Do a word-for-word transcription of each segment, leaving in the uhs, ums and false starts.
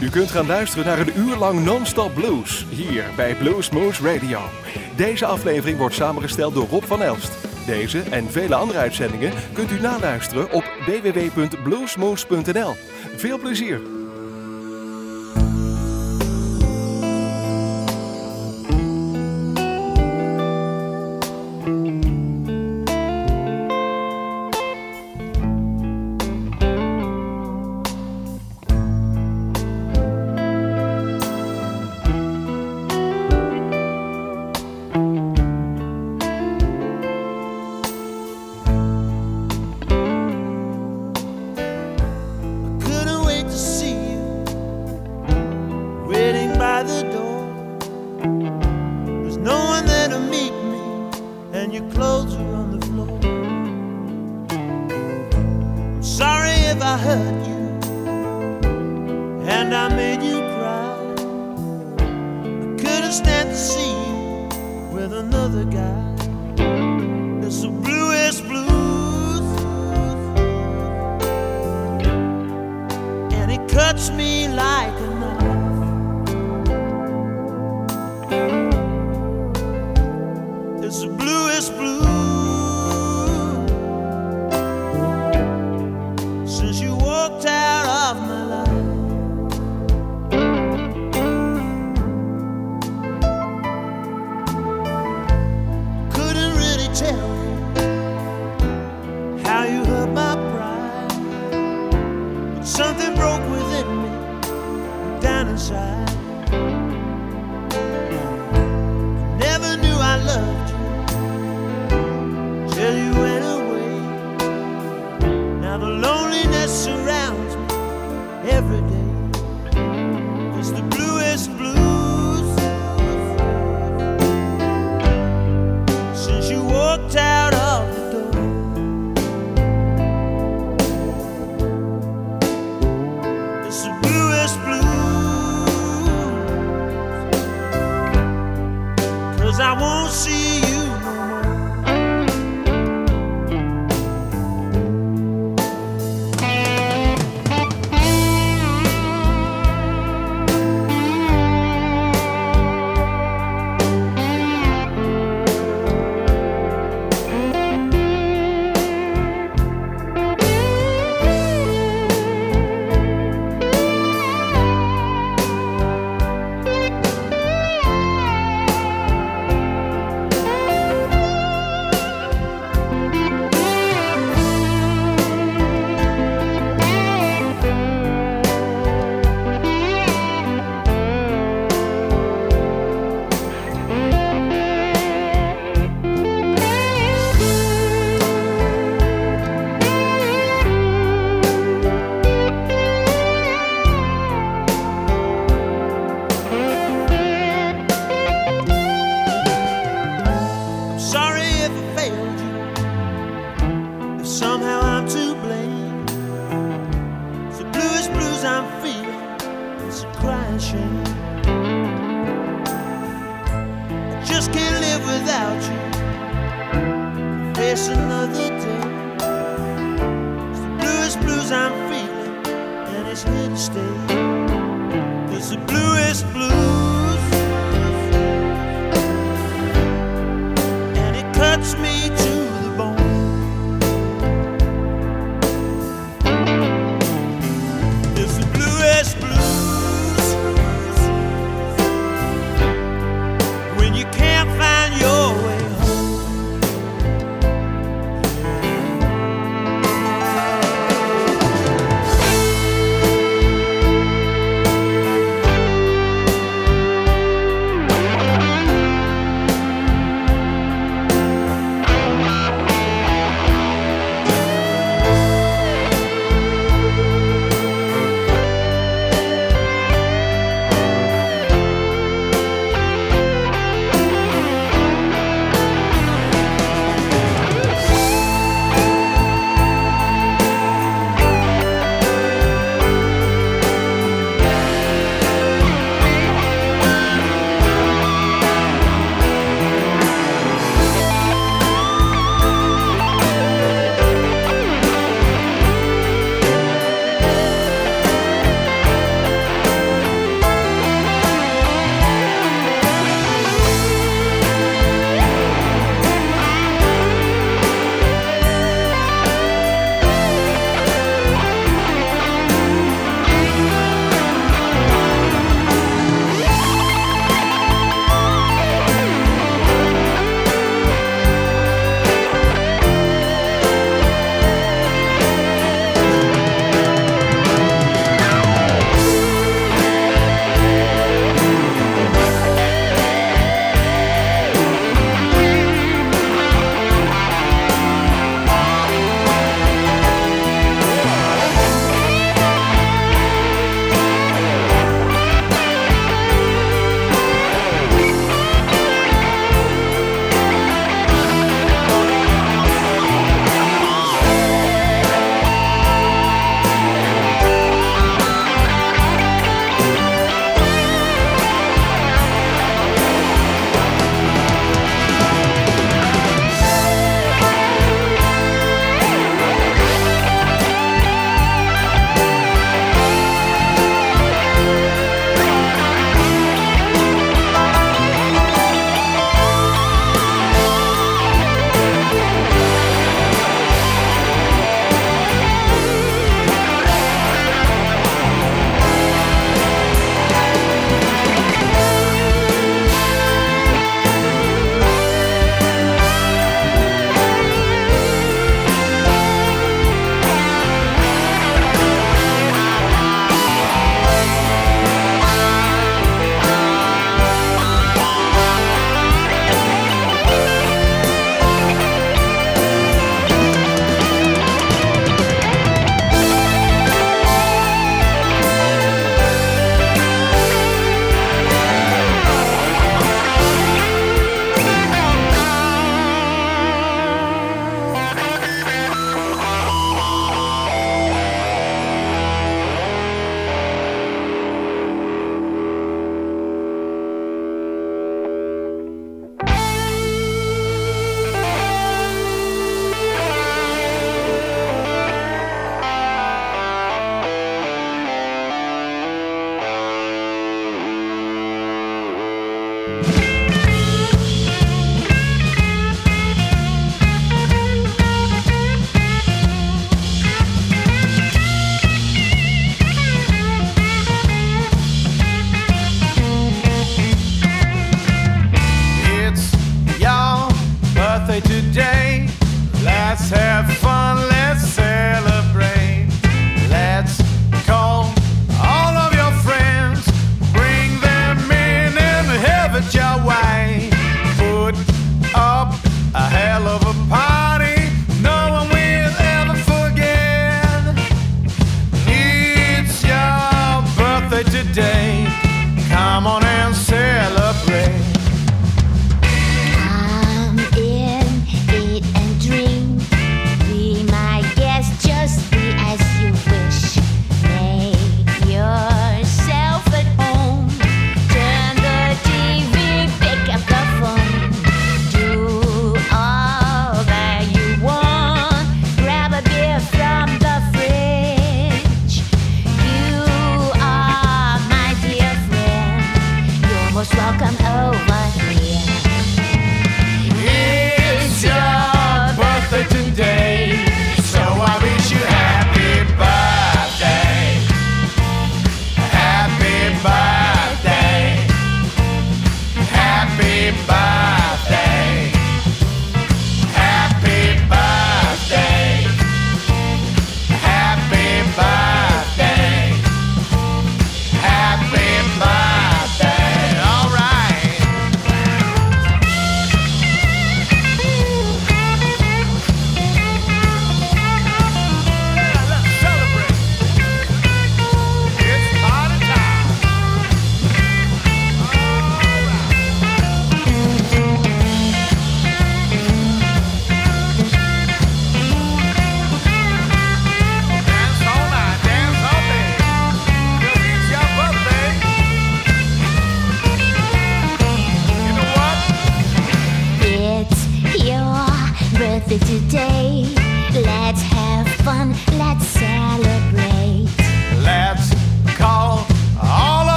U kunt gaan luisteren naar een uur lang non-stop blues, hier bij Bluesmoose Radio. Deze aflevering wordt samengesteld door Rob van Elst. Deze en vele andere uitzendingen kunt u naluisteren op w w w punt bluesmoose punt n l. Veel plezier!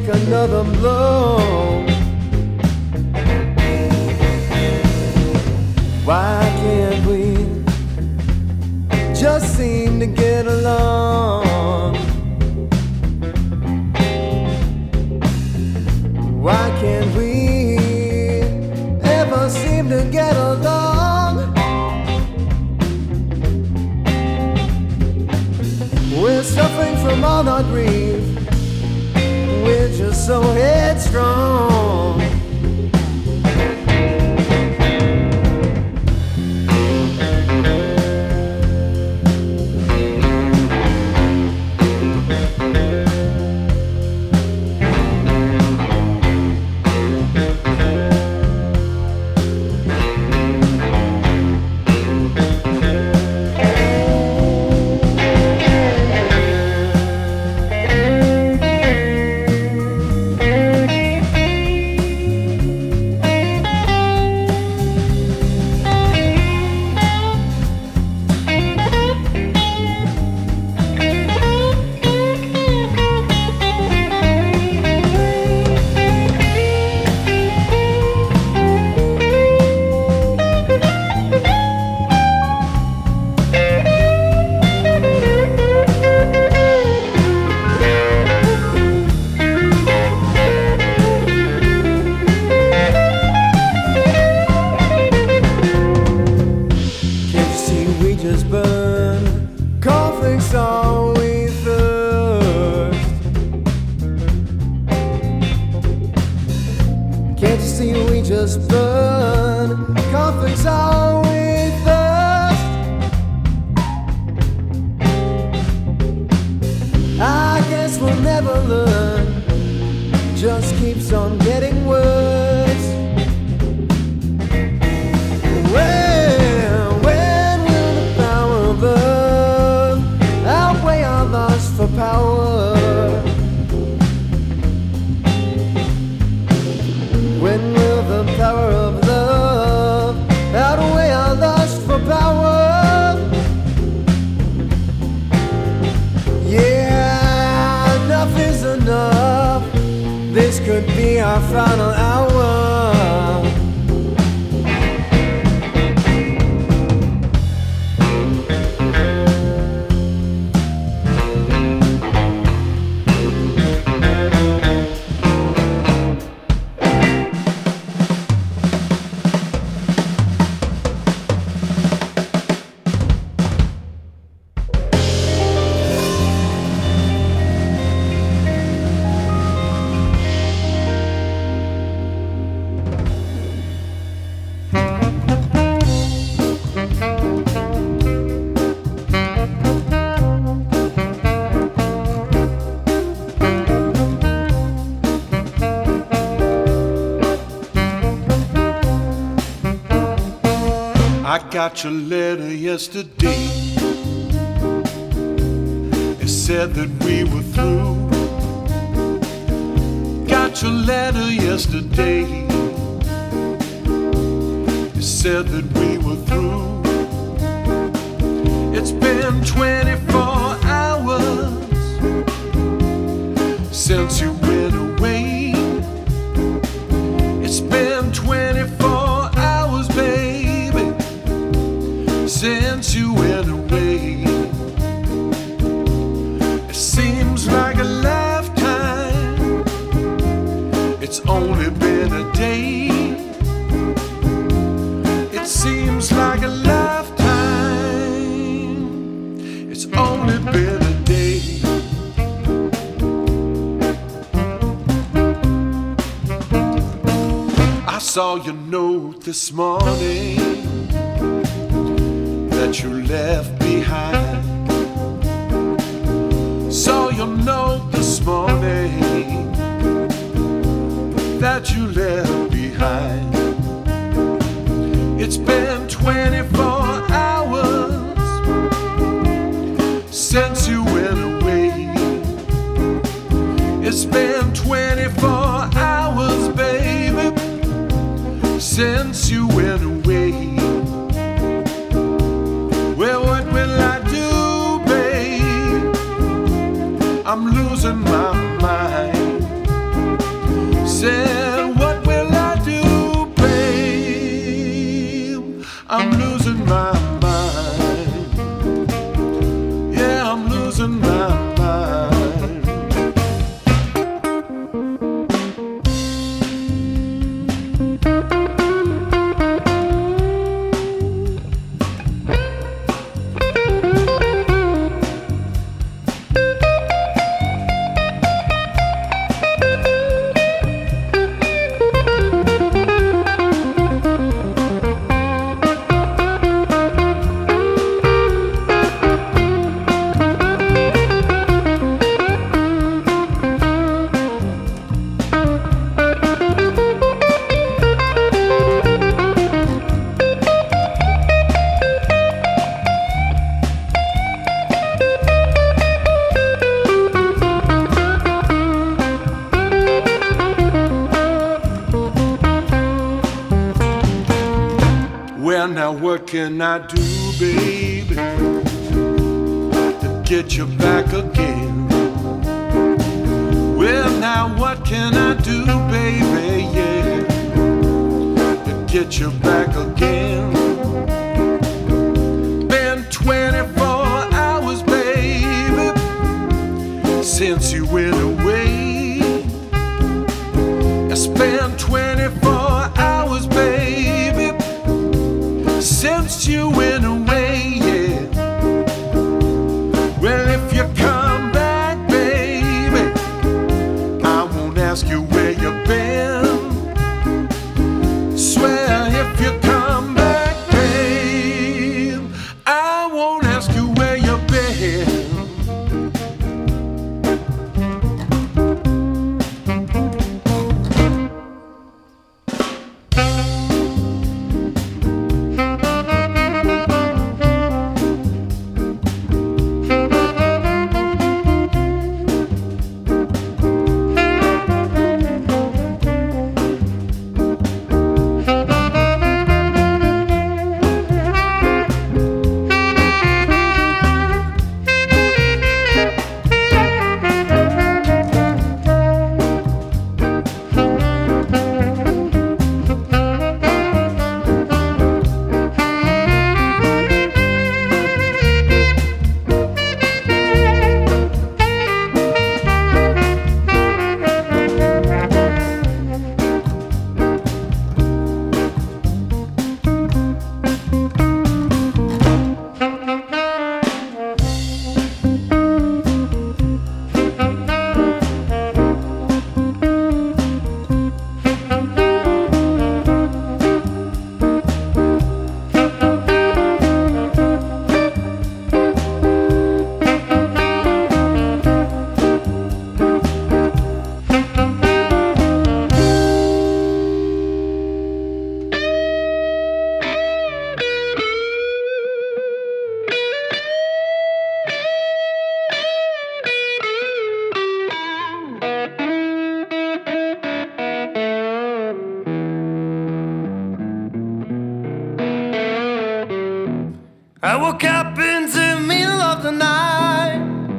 take another blow. Why can't we just seem to get along? Why can't we ever seem to get along? We're suffering from all our grief. We're just so headstrong. I got your letter yesterday. It said that we were through. Got your letter yesterday. It said that we were through. It's been twenty-four hours since you went away. It's been twenty-four hours, baby, since you went away. It seems like a lifetime. It's only been a day. It seems like a lifetime. It's only been a day. I saw your note this morning that you left behind. Saw your note this morning that you left behind. It's been twenty-four hours since you went away. It's been twenty-four hours, baby, since you went away. Well, what will I do, babe? I'm losing my mind. now what can I do, baby, to get you back again? Well, now what can I do, baby, yeah, to get you back again? Been twenty-four hours, baby, since you went away. It's been twenty-four hours, baby, since you went away, yeah. Well, if you come back, baby, I won't ask you where you've been. Swear if you come back, babe, I won't ask you where you've been. I woke up in the middle of the night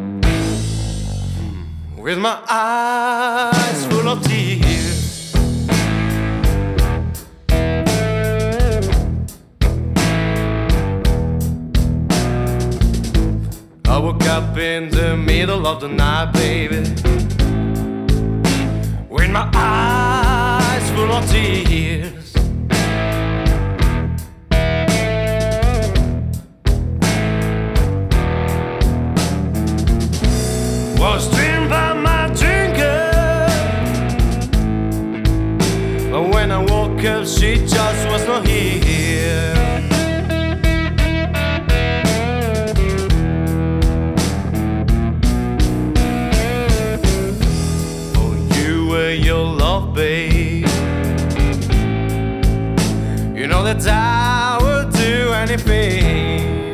with my eyes full of tears. I woke up in the middle of the night, baby, with my eyes full of tears. Was dreamed by my drinker, but when I woke up, she just was not here. Oh, you and your love, babe, you know that I would do anything.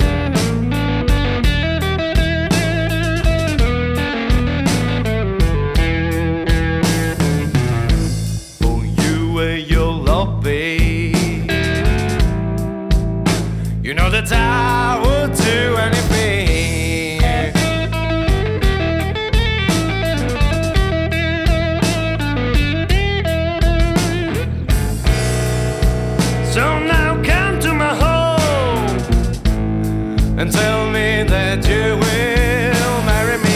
You know that I would do anything. So now come to my home and tell me that you will marry me.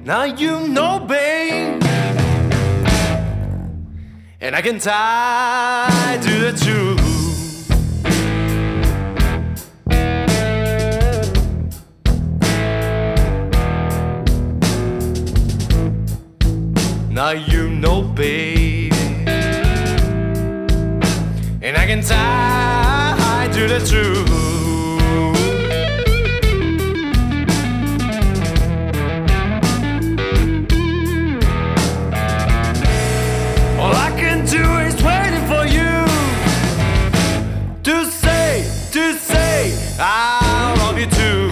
Now you know, babe, and I can tie to the truth. Now you know, baby, and I can tie to the truth. All I can do is waiting for you to say, to say I love you too.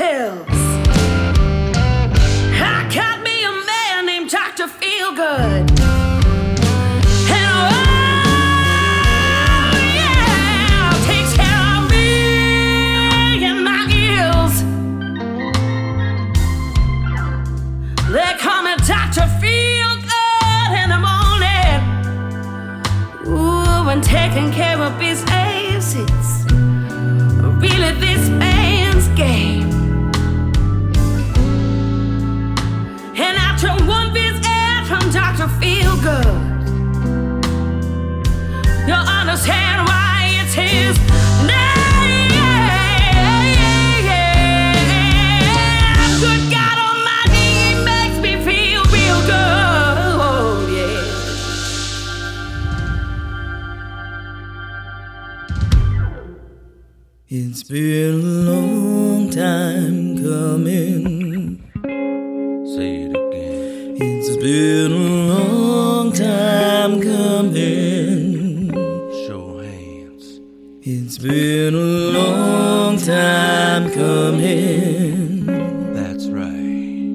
pills. I got me a man named Doctor Feelgood. And oh yeah, takes care of me and my ills. They call me Doctor Feelgood in the morning. Ooh, and taking care of business, it's really this man's game. And after one visit from Doctor Feelgood, you'll understand why it's his name. Good God Almighty, he makes me feel real good, yeah. It's been a long time coming. Say it again. It's been a long time coming. Show hands. It's been a long time coming. That's right.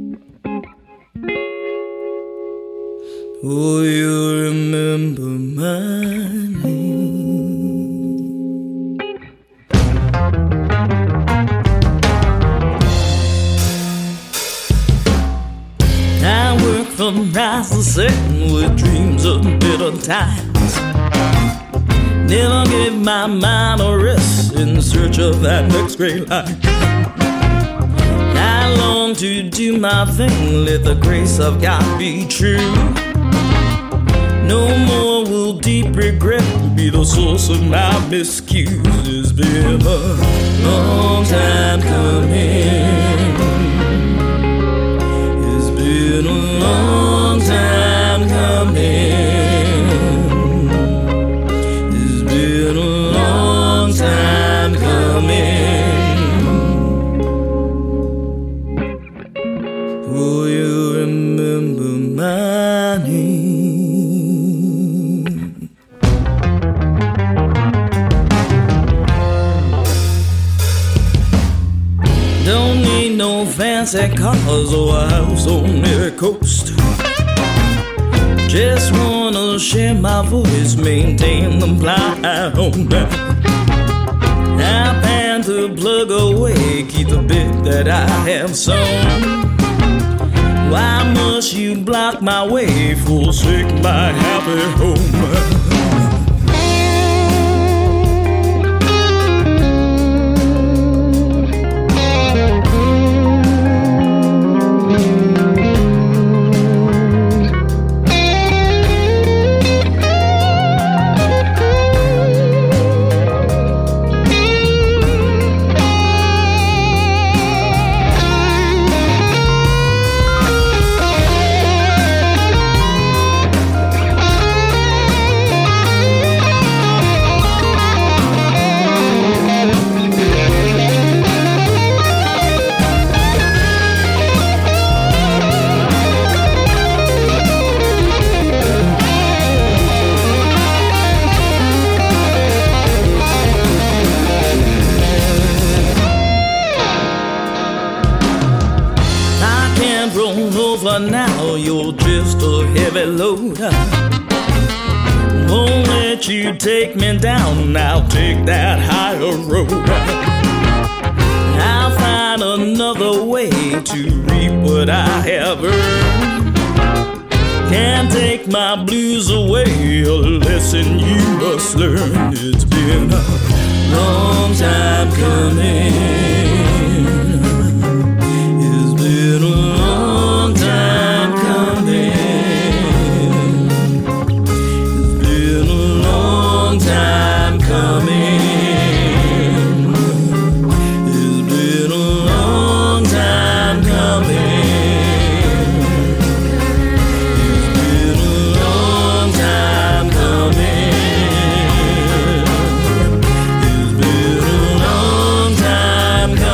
Oh, you remember my name. I work from rise to setting with dreams of better times. Never give my mind a rest in search of that next great life. I long to do my thing, let the grace of God be true. No more will deep regret be the source of my miscues. It's been a long time coming. It's been a long time coming. It's been a long time coming. Will you remember my name? Don't need no fancy cars or a house on the coast. Just wanna share my voice, maintain the blind home. I plan to plug away, keep the bit that I have sown. Why must you block my way, forsake my happy home? Now you're just a heavy load. Won't let you take me down, I'll take that higher road. I'll find another way to reap what I have earned. Can't take my blues away, a lesson you must learn. It's been a long time coming. It's been a long time coming. It's been a long time coming. It's been a long time coming. It's been a long time coming. It's been a long time coming.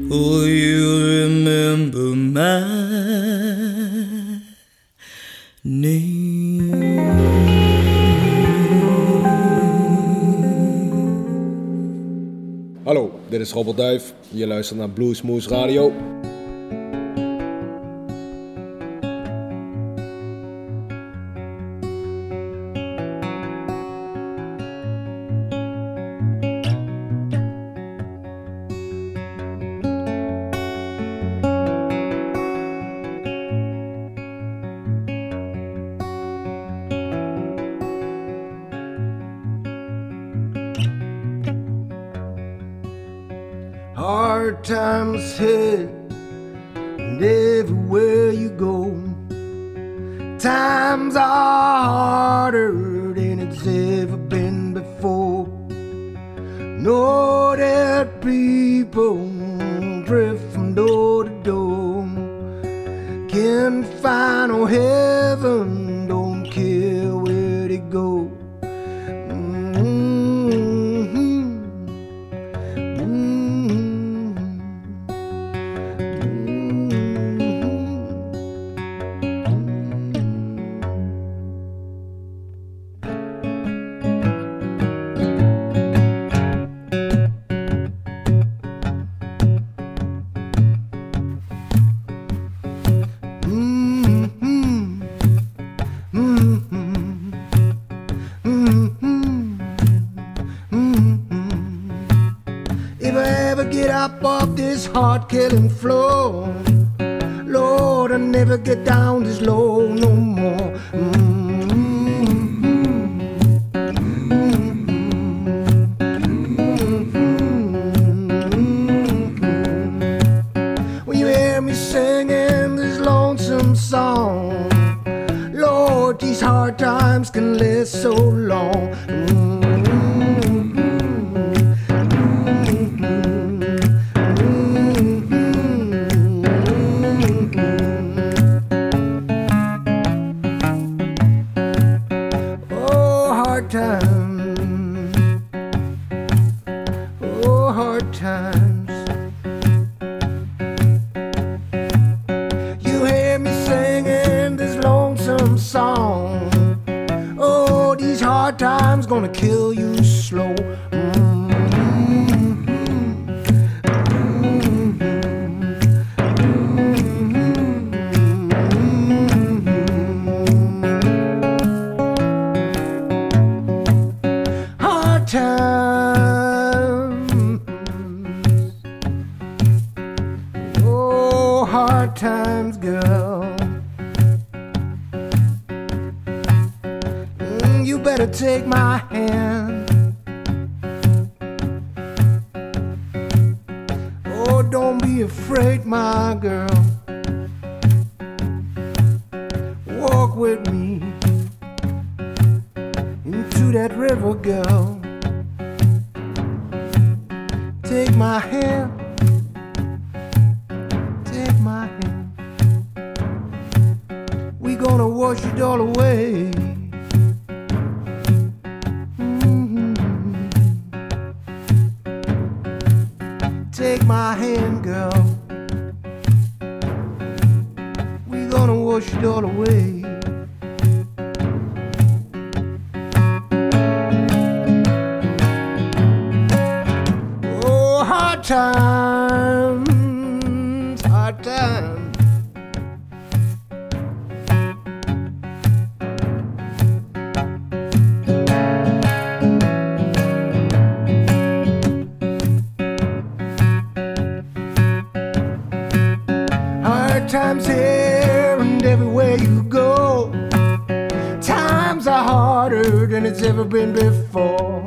Oh, you remember my name. Hallo, dit is Robert Duif. Je luistert naar Bluesmoose Radio. Hard times hit, and everywhere you go, times are harder than it's ever been before. Know that people drift from door to door, can't find no heaven, don't care where they go. Heart-killing flow, Lord, I never get down this low no more. Mm-hmm. When you hear me singing this lonesome song, Lord, these hard times can last so long. Mm-hmm. Gonna kill you slow. Mm-hmm. Hard times, oh, hard times, girl. You better take my hand. Oh, don't be afraid, my girl. Walk with me into that river, girl. Take my hand. Take my hand. We gonna wash it all away. Take my hand, girl. We're gonna wash it all away. Oh, hard times, hard times. Times here and everywhere you go, times are harder than it's ever been before.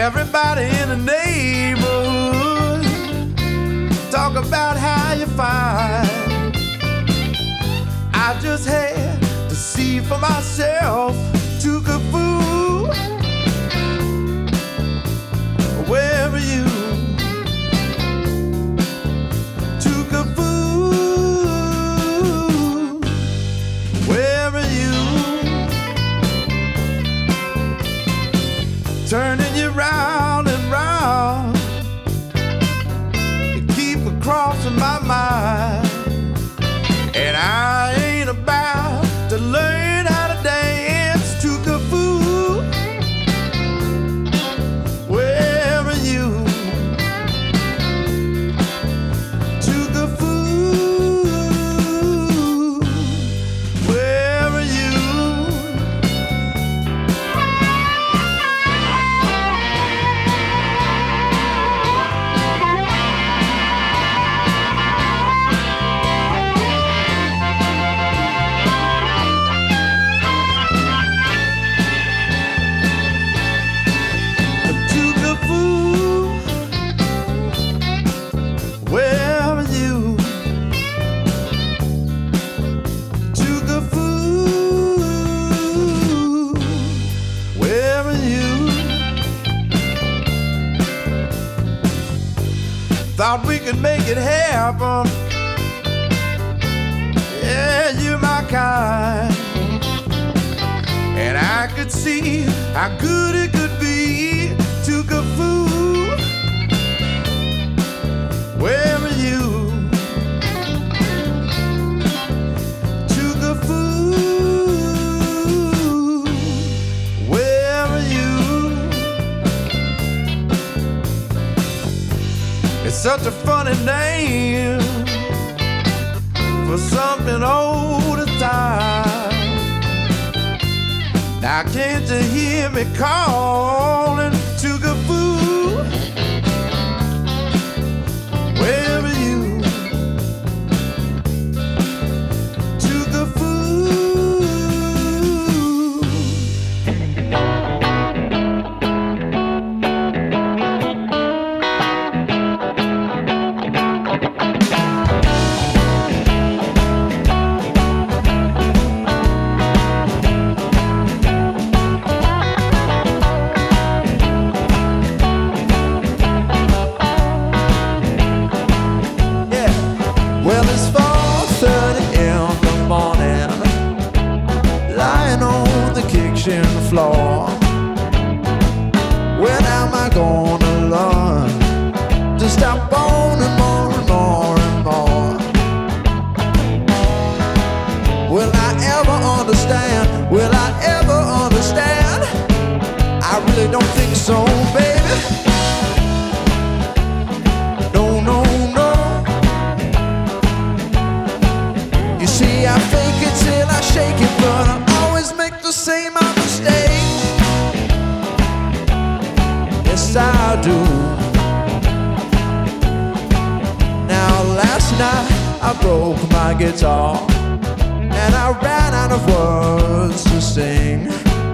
Everybody in the neighborhood talk about how you find. I just had to see for myself. Took a fool. Where are you? Took a fool. Where are you? Turning you round and round. You keep it crossing my mind. And I ain't about to learn how to dance to the fool. Where are you? To the fool. Where are you? Thought we could make it happen. Yeah, you're my kind. And I could see how good it could be. Took a fool. Where are you? Took a fool. Where are you? It's such a funny name for something old as time. Now can't you hear me calling to the fool? Where are you? To the fool. Floor. When am I gonna learn to stop owning more and more and more? Will I ever understand? Will I ever understand? I really don't think so, baby. No, no, no. You see, I fake it till I shake it, but I always make the same mistake. Yes, I do. Now, last night I broke my guitar and I ran out of words to sing.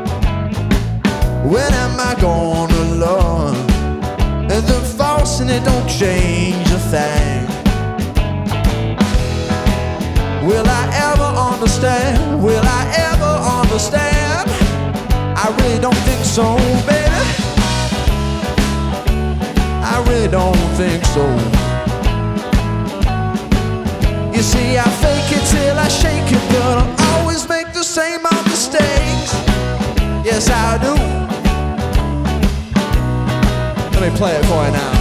When am I gonna learn? And the false and it don't change a thing. Will I ever understand? Will I ever understand? I really don't think so, baby. I really don't think so. You see, I fake it till I shake it, but I always make the same old mistakes. Yes, I do. Let me play it for you now.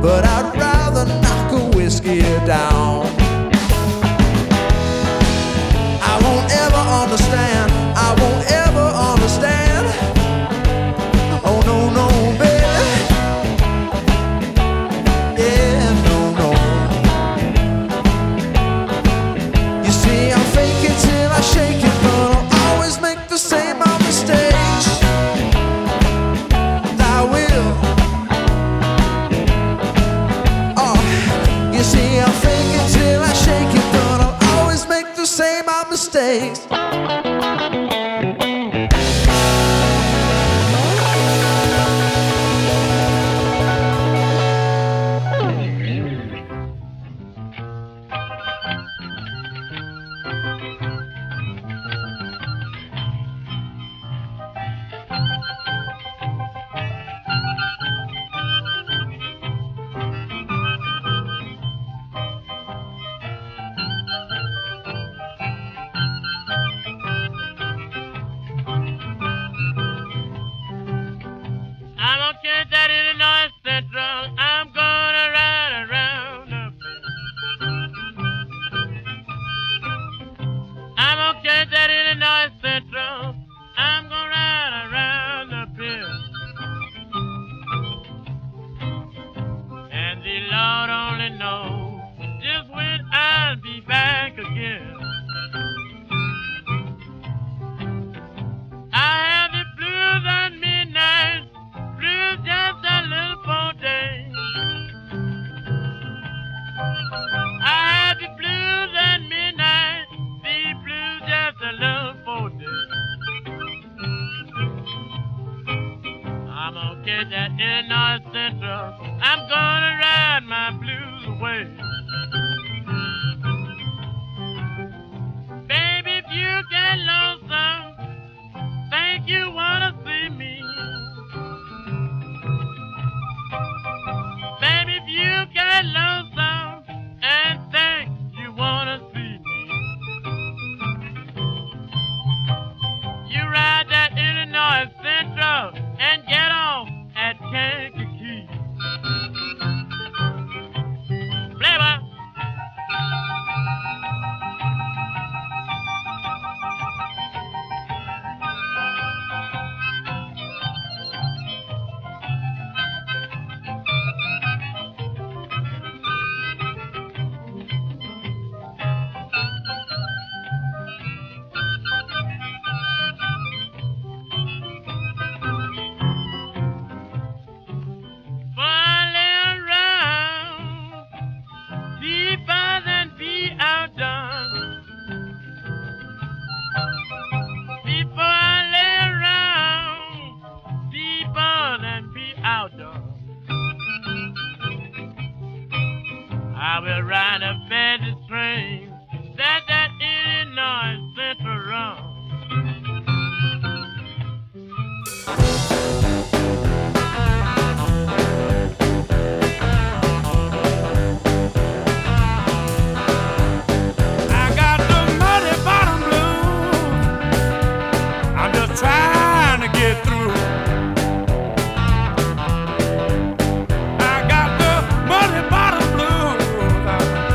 but I'd rather knock a whiskey down. I won't ever understand, I won't ever understand. Oh no, no, baby. Yeah, no, no. You see, I'll fake it till I shake it, but I'll always make the same old mistakes. I will. Oh, you see, I'll fake it till I shake it, but I'll always make the same old mistakes. I got the muddy bottom blues.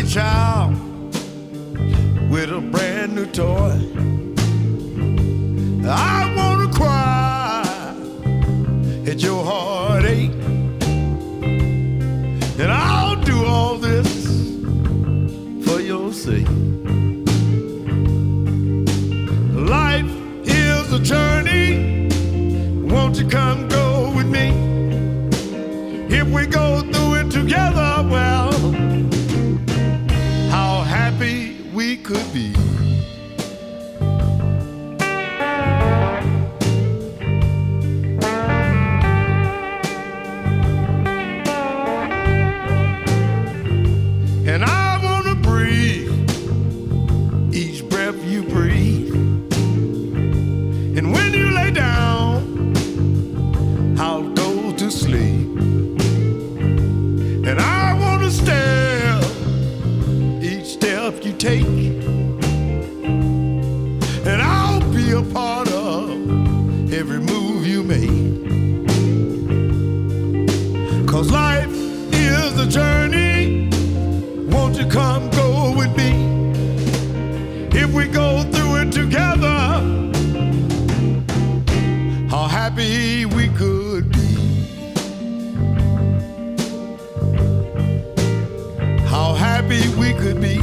your child with a brand new toy. I wanna cry at your heartache, and I'll do all this for your sake. Life is a journey, won't you come go with me? If we go through it together, well, how happy we could be. And I wanna breathe each breath you breathe. And when you lay down, I'll go to sleep. And I wanna stare each step you take. And I'll be a part of every move you make. 'Cause life is a journey, won't you come go with me? If we go through it together, how happy we could be. How happy we could be.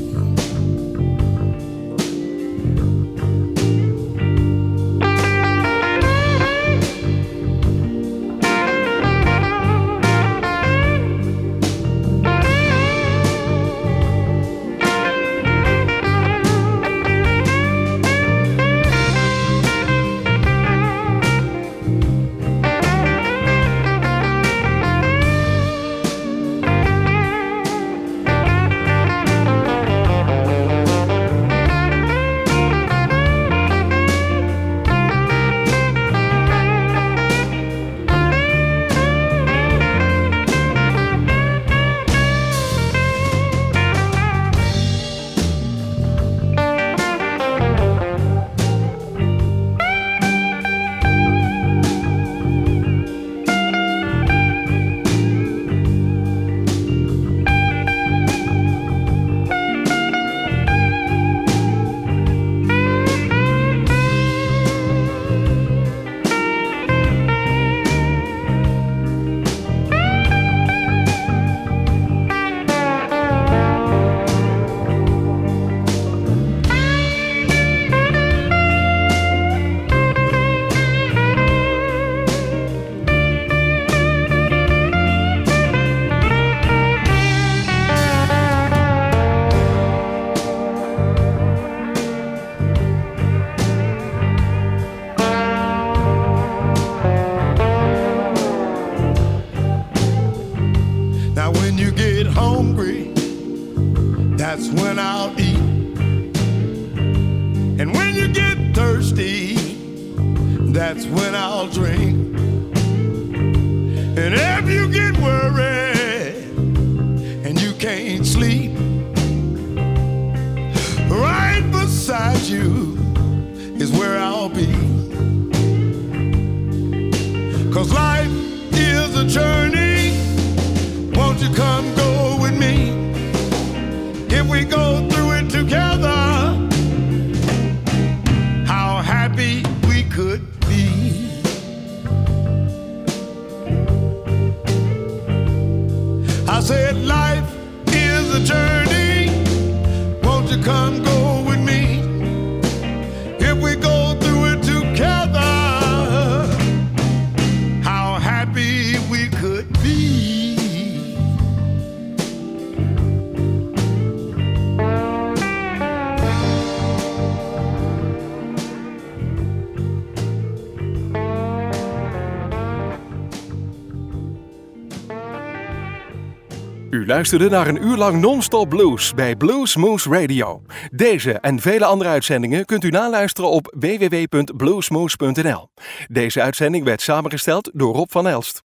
That's when I'll eat. And when you get thirsty, that's when I'll drink. And if you get worried and you can't sleep, right beside you is where I'll be. 'Cause life is a journey, won't you come go with me? If we go through it together, how happy we could be. I said life is a journey, won't you come go with me? If we go through it together, how happy we could be. U luisterde naar een uur lang non-stop blues bij Blues Moose Radio. Deze en vele andere uitzendingen kunt u naluisteren op w w w punt bluesmoose punt n l. Deze uitzending werd samengesteld door Rob van Elst.